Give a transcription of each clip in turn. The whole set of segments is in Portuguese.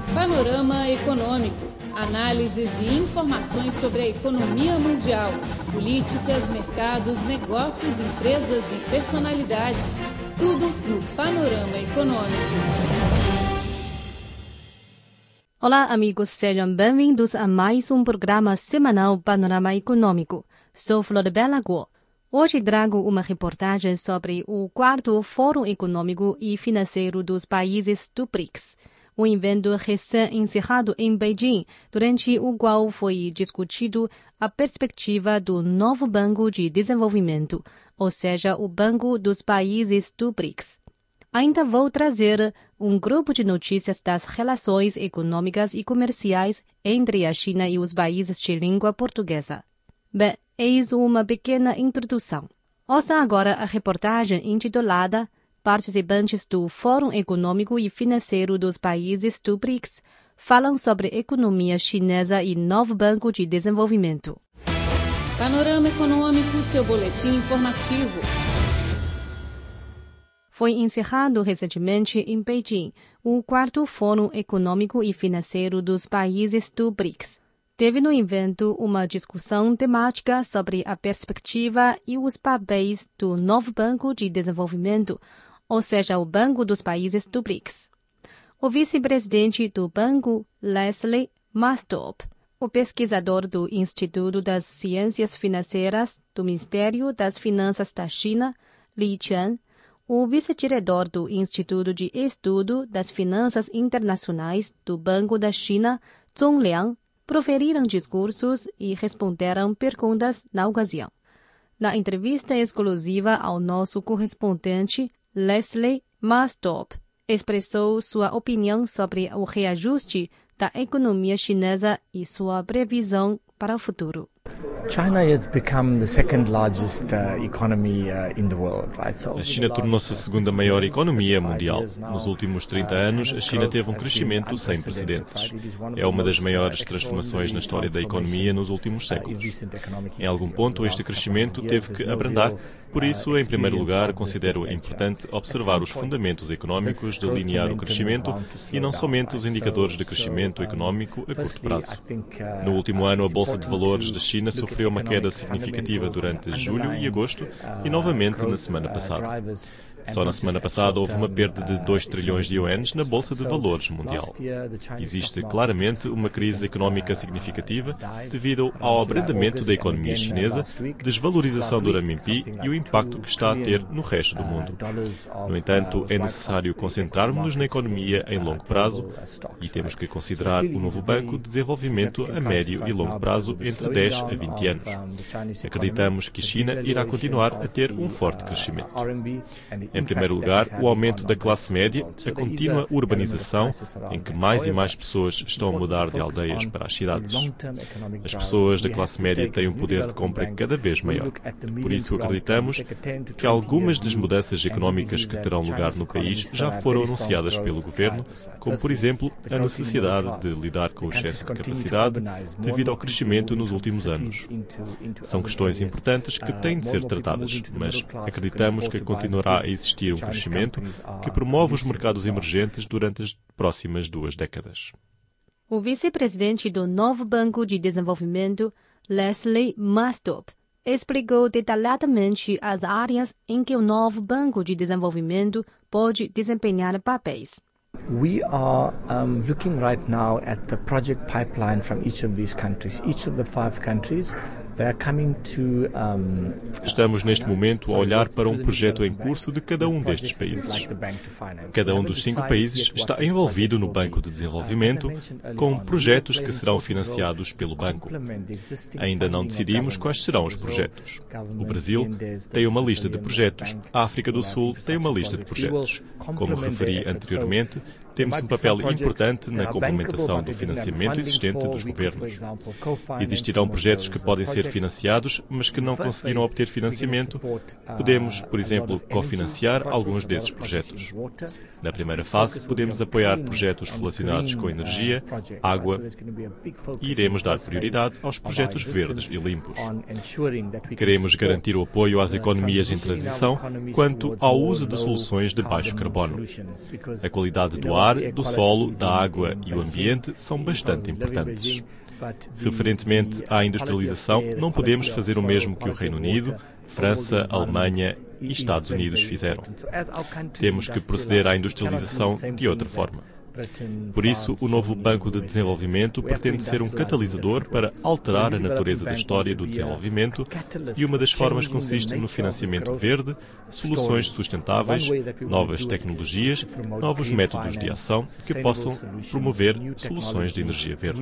Panorama Econômico. Análises e informações sobre a economia mundial, políticas, mercados, negócios, empresas e personalidades. Tudo no Panorama Econômico. Olá, amigos, sejam bem-vindos a mais um programa semanal Panorama Econômico. Sou Flor Bela Guo. Hoje trago uma reportagem sobre o 4º Fórum Econômico e Financeiro dos Países do BRICS, um evento recém-encerrado em Beijing, durante o qual foi discutido a perspectiva do novo Banco de Desenvolvimento, ou seja, o Banco dos Países do BRICS. Ainda vou trazer um grupo de notícias das relações econômicas e comerciais entre a China e os países de língua portuguesa. Bem, eis uma pequena introdução. Ouça agora a reportagem intitulada Participantes do Fórum Econômico e Financeiro dos Países do BRICS falam sobre economia chinesa e novo Banco de Desenvolvimento. Panorama Econômico, seu boletim informativo. Foi encerrado recentemente em Beijing o 4º Fórum Econômico e Financeiro dos Países do BRICS. Teve no evento uma discussão temática sobre a perspectiva e os papéis do novo Banco de Desenvolvimento, ou seja, o Banco dos Países do BRICS. O vice-presidente do banco, Leslie Mastop, o pesquisador do Instituto das Ciências Financeiras do Ministério das Finanças da China, Li Quan, o vice-diretor do Instituto de Estudo das Finanças Internacionais do Banco da China, Zhong Liang, proferiram discursos e responderam perguntas na ocasião. Na entrevista exclusiva ao nosso correspondente, Leslie Mastop expressou sua opinião sobre o reajuste da economia chinesa e sua previsão para o futuro. China has become the second largest economy in the world, right? A China tornou-se a segunda maior economia mundial. Nos últimos 30 anos, a China teve um crescimento sem precedentes. É uma das maiores transformações na história da economia nos últimos séculos. Em algum ponto, este crescimento teve que abrandar. Por isso, em primeiro lugar, considero importante observar os fundamentos económicos, delinear o crescimento e não somente os indicadores de crescimento económico a curto prazo. No último ano, a Bolsa de Valores da China sofreu uma queda significativa durante julho e agosto e novamente na semana passada. Só na semana passada houve uma perda de 2 trilhões de yuans na Bolsa de Valores mundial. Existe claramente uma crise económica significativa devido ao abrandamento da economia chinesa, desvalorização do renminbi e o impacto que está a ter no resto do mundo. No entanto, é necessário concentrarmos-nos na economia em longo prazo e temos que considerar o novo Banco de Desenvolvimento a médio e longo prazo entre 10 a 20 anos. Acreditamos que a China irá continuar a ter um forte crescimento. Em primeiro lugar, o aumento da classe média, a contínua urbanização, em que mais e mais pessoas estão a mudar de aldeias para as cidades. As pessoas da classe média têm um poder de compra cada vez maior. Por isso, acreditamos que algumas das mudanças económicas que terão lugar no país já foram anunciadas pelo governo, como, por exemplo, a necessidade de lidar com o excesso de capacidade devido ao crescimento nos últimos anos. São questões importantes que têm de ser tratadas, mas acreditamos que continuará a existir um crescimento que promove os mercados emergentes durante as próximas 2 décadas. O vice-presidente do novo Banco de Desenvolvimento, Leslie Mastop, explicou detalhadamente as áreas em que o novo Banco de Desenvolvimento pode desempenhar papéis. We are looking right now at the project pipeline from each of these countries. Each of the 5 countries, they are coming to Estamos neste momento a olhar para um projeto em curso de cada um destes países. Cada um dos 5 países está envolvido no Banco de Desenvolvimento com projetos que serão financiados pelo banco. Ainda não decidimos quais serão os projetos. O Brasil tem uma lista de projetos. A África do Sul tem uma lista de projetos. Como referi anteriormente, temos um papel importante na complementação do financiamento existente dos governos. Existirão projetos que podem ser financiados, mas que não conseguiram obter financiamento. Podemos, por exemplo, cofinanciar alguns desses projetos. Na primeira fase, podemos apoiar projetos relacionados com energia, água e iremos dar prioridade aos projetos verdes e limpos. Queremos garantir o apoio às economias em transição quanto ao uso de soluções de baixo carbono. A qualidade do ar mar, do solo, da água e o ambiente são bastante importantes. Referentemente à industrialização, não podemos fazer o mesmo que o Reino Unido, França, Alemanha e Estados Unidos fizeram. Temos que proceder à industrialização de outra forma. Por isso, o novo Banco de Desenvolvimento pretende ser um catalisador para alterar a natureza da história do desenvolvimento e uma das formas consiste no financiamento verde, soluções sustentáveis, novas tecnologias, novos métodos de ação que possam promover soluções de energia verde.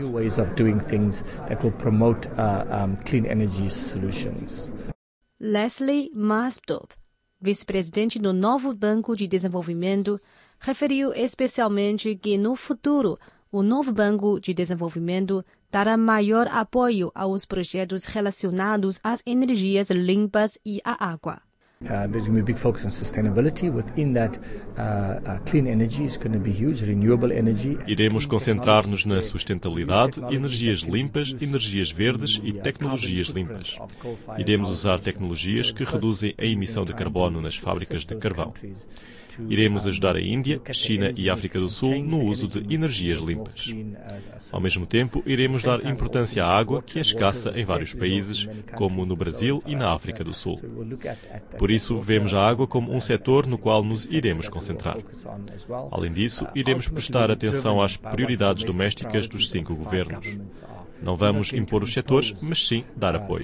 Leslie Mastop, vice-presidente do novo Banco de Desenvolvimento, referiu especialmente que, no futuro, o novo Banco de Desenvolvimento dará maior apoio aos projetos relacionados às energias limpas e à água. There's going to be a big focus on sustainability. Within that, clean energy is going to be huge, renewable energy. Iremos concentrar-nos na sustentabilidade, energias limpas, energias verdes e tecnologias limpas. Iremos usar tecnologias que reduzem a emissão de carbono nas fábricas de carvão. Iremos ajudar a Índia, China e África do Sul no uso de energias limpas. Ao mesmo tempo, iremos dar importância à água, que é escassa em vários países, como no Brasil e na África do Sul. Por isso, vemos a água como um setor no qual nos iremos concentrar. Além disso, iremos prestar atenção às prioridades domésticas dos 5 governos. Não vamos impor os setores, mas sim dar apoio.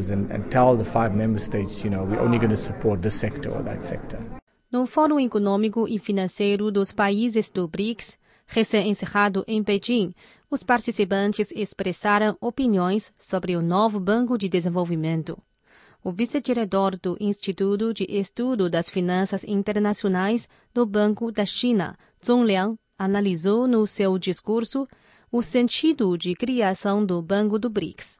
No Fórum Econômico e Financeiro dos Países do BRICS, recém-encerrado em Pequim, os participantes expressaram opiniões sobre o novo Banco de Desenvolvimento. O vice-diretor do Instituto de Estudo das Finanças Internacionais do Banco da China, Zhong Liang, analisou no seu discurso o sentido de criação do Banco do BRICS.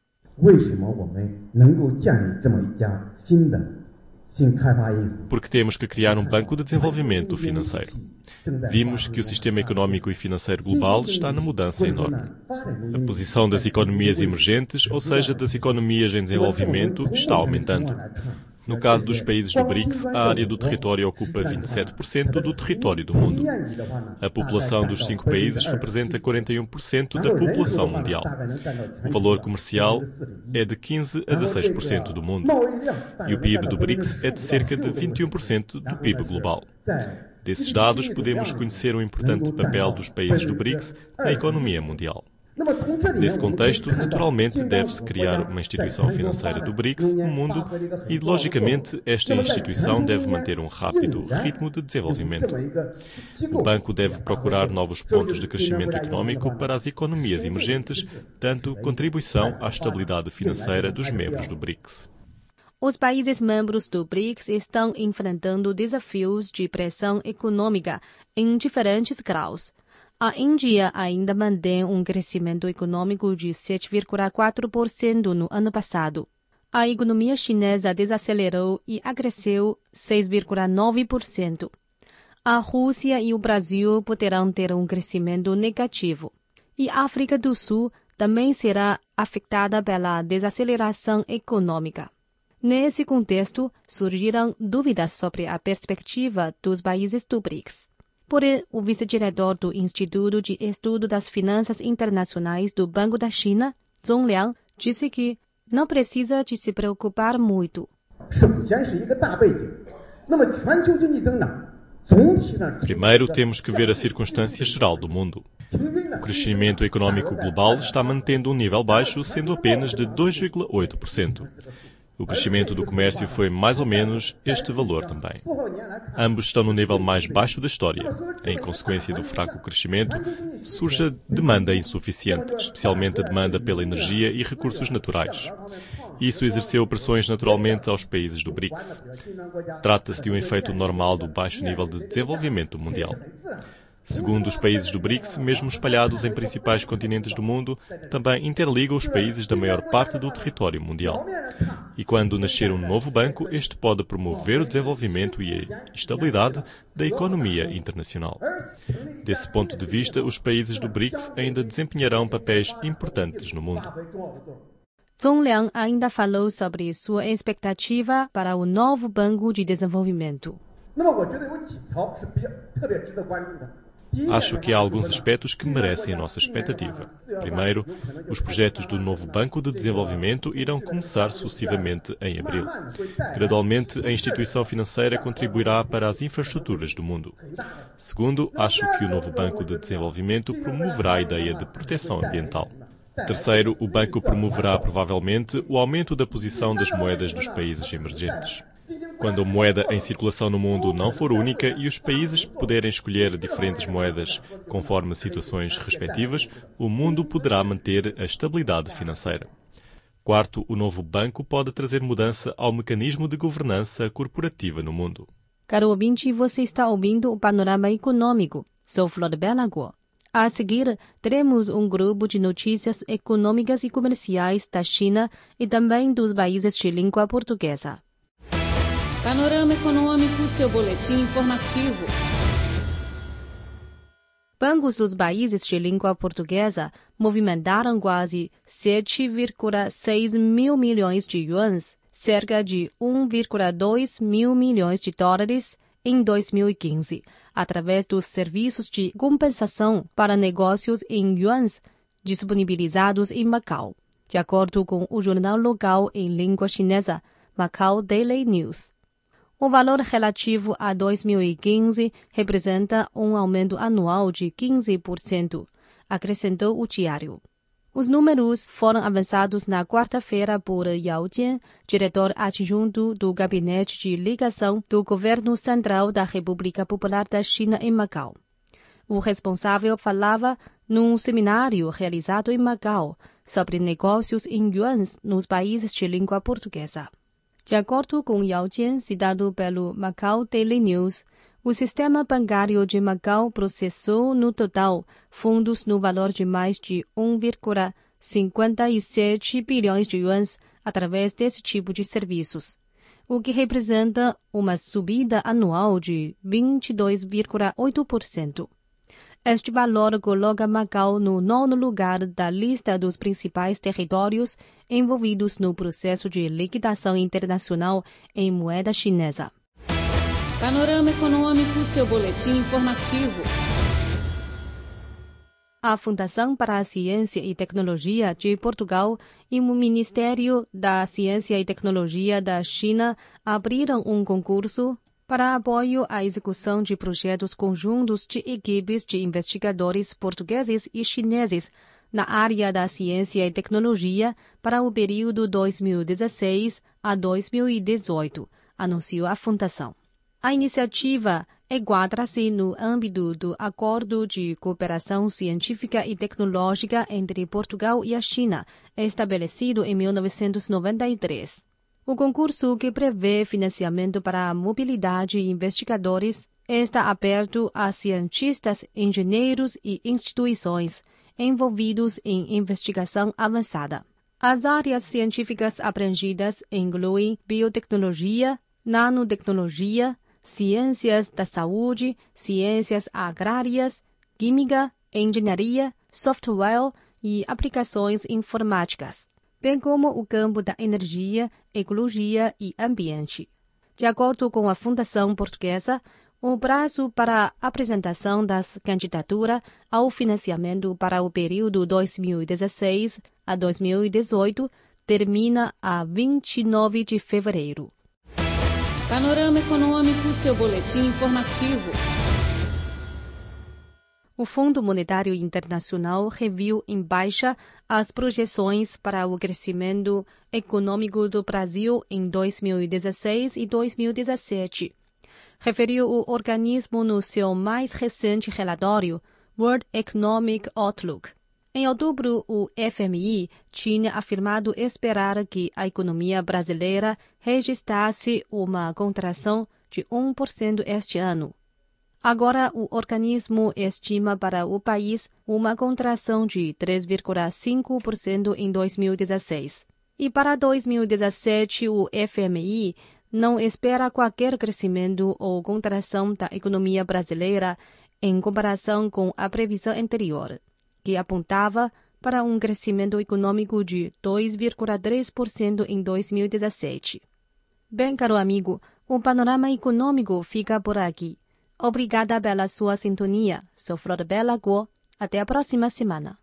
Porque temos que criar um banco de desenvolvimento financeiro. Vimos que o sistema económico e financeiro global está na mudança enorme. A posição das economias emergentes, ou seja, das economias em desenvolvimento, está aumentando. No caso dos países do BRICS, a área do território ocupa 27% do território do mundo. A população dos 5 países representa 41% da população mundial. O valor comercial é de 15% a 16% do mundo. E o PIB do BRICS é de cerca de 21% do PIB global. Desses dados, podemos conhecer o importante papel dos países do BRICS na economia mundial. Nesse contexto, naturalmente, deve-se criar uma instituição financeira do BRICS no mundo e, logicamente, esta instituição deve manter um rápido ritmo de desenvolvimento. O banco deve procurar novos pontos de crescimento económico para as economias emergentes, dando contribuição à estabilidade financeira dos membros do BRICS. Os países membros do BRICS estão enfrentando desafios de pressão econômica em diferentes graus. A Índia ainda mantém um crescimento econômico de 7,4% no ano passado. A economia chinesa desacelerou e acresceu 6,9%. A Rússia e o Brasil poderão ter um crescimento negativo. E a África do Sul também será afetada pela desaceleração econômica. Nesse contexto, surgiram dúvidas sobre a perspectiva dos países do BRICS. Porém, o vice-diretor do Instituto de Estudo das Finanças Internacionais do Banco da China, Zhong Liang, disse que não precisa de se preocupar muito. Primeiro, temos que ver a circunstância geral do mundo. O crescimento econômico global está mantendo um nível baixo, sendo apenas de 2,8%. O crescimento do comércio foi mais ou menos este valor também. Ambos estão no nível mais baixo da história. Em consequência do fraco crescimento, surge a demanda insuficiente, especialmente a demanda pela energia e recursos naturais. Isso exerceu pressões naturalmente aos países do BRICS. Trata-se de um efeito normal do baixo nível de desenvolvimento mundial. Segundo os países do BRICS, mesmo espalhados em principais continentes do mundo, também interligam os países da maior parte do território mundial. E quando nascer um novo banco, este pode promover o desenvolvimento e a estabilidade da economia internacional. Desse ponto de vista, os países do BRICS ainda desempenharão papéis importantes no mundo. Zhong Liang ainda falou sobre sua expectativa para o novo Banco de Desenvolvimento. Acho que há alguns aspectos que merecem a nossa expectativa. Primeiro, os projetos do novo Banco de Desenvolvimento irão começar sucessivamente em abril. Gradualmente, a instituição financeira contribuirá para as infraestruturas do mundo. Segundo, acho que o novo Banco de Desenvolvimento promoverá a ideia de proteção ambiental. Terceiro, o banco promoverá provavelmente o aumento da posição das moedas dos países emergentes. Quando a moeda em circulação no mundo não for única e os países puderem escolher diferentes moedas conforme situações respectivas, o mundo poderá manter a estabilidade financeira. Quarto, o novo banco pode trazer mudança ao mecanismo de governança corporativa no mundo. Caro ouvinte, você está ouvindo o Panorama Econômico. Sou Flor Belagor. A seguir, teremos um grupo de notícias econômicas e comerciais da China e também dos países de língua portuguesa. Panorama Econômico, seu boletim informativo. Bancos dos países de língua portuguesa movimentaram quase 7,6 mil milhões de yuans, cerca de 1,2 mil milhões de dólares, em 2015, através dos serviços de compensação para negócios em yuans disponibilizados em Macau, de acordo com o jornal local em língua chinesa, Macau Daily News. O valor relativo a 2015 representa um aumento anual de 15%, acrescentou o diário. Os números foram avançados na quarta-feira por Yao Jian, diretor adjunto do Gabinete de Ligação do Governo Central da República Popular da China em Macau. O responsável falava num seminário realizado em Macau sobre negócios em yuans nos países de língua portuguesa. De acordo com Yao Jian, citado pelo Macau Daily News, o sistema bancário de Macau processou no total fundos no valor de mais de 1,57 bilhões de yuans através desse tipo de serviços, o que representa uma subida anual de 22,8%. Este valor coloca Macau no 9º lugar da lista dos principais territórios envolvidos no processo de liquidação internacional em moeda chinesa. Panorama Econômico, seu boletim informativo. A Fundação para a Ciência e Tecnologia de Portugal e o Ministério da Ciência e Tecnologia da China abriram um concurso para apoio à execução de projetos conjuntos de equipes de investigadores portugueses e chineses na área da ciência e tecnologia para o período 2016 a 2018, anunciou a Fundação. A iniciativa enquadra-se no âmbito do Acordo de Cooperação Científica e Tecnológica entre Portugal e a China, estabelecido em 1993. O concurso, que prevê financiamento para a mobilidade de investigadores, está aberto a cientistas, engenheiros e instituições envolvidos em investigação avançada. As áreas científicas abrangidas incluem biotecnologia, nanotecnologia, ciências da saúde, ciências agrárias, química, engenharia, software e aplicações informáticas, bem como o campo da energia, ecologia e ambiente. De acordo com a Fundação Portuguesa, o prazo para a apresentação das candidaturas ao financiamento para o período 2016 a 2018 termina a 29 de fevereiro. Panorama Econômico, seu boletim informativo. O Fundo Monetário Internacional reviu em baixa as projeções para o crescimento econômico do Brasil em 2016 e 2017. Referiu o organismo no seu mais recente relatório, World Economic Outlook. Em outubro, o FMI tinha afirmado esperar que a economia brasileira registrasse uma contração de 1% este ano. Agora, o organismo estima para o país uma contração de 3,5% em 2016. E para 2017, o FMI não espera qualquer crescimento ou contração da economia brasileira em comparação com a previsão anterior, que apontava para um crescimento econômico de 2,3% em 2017. Bem, caro amigo, o panorama econômico fica por aqui. Obrigada pela sua sintonia. Sou Flor Bela Guo. Até a próxima semana.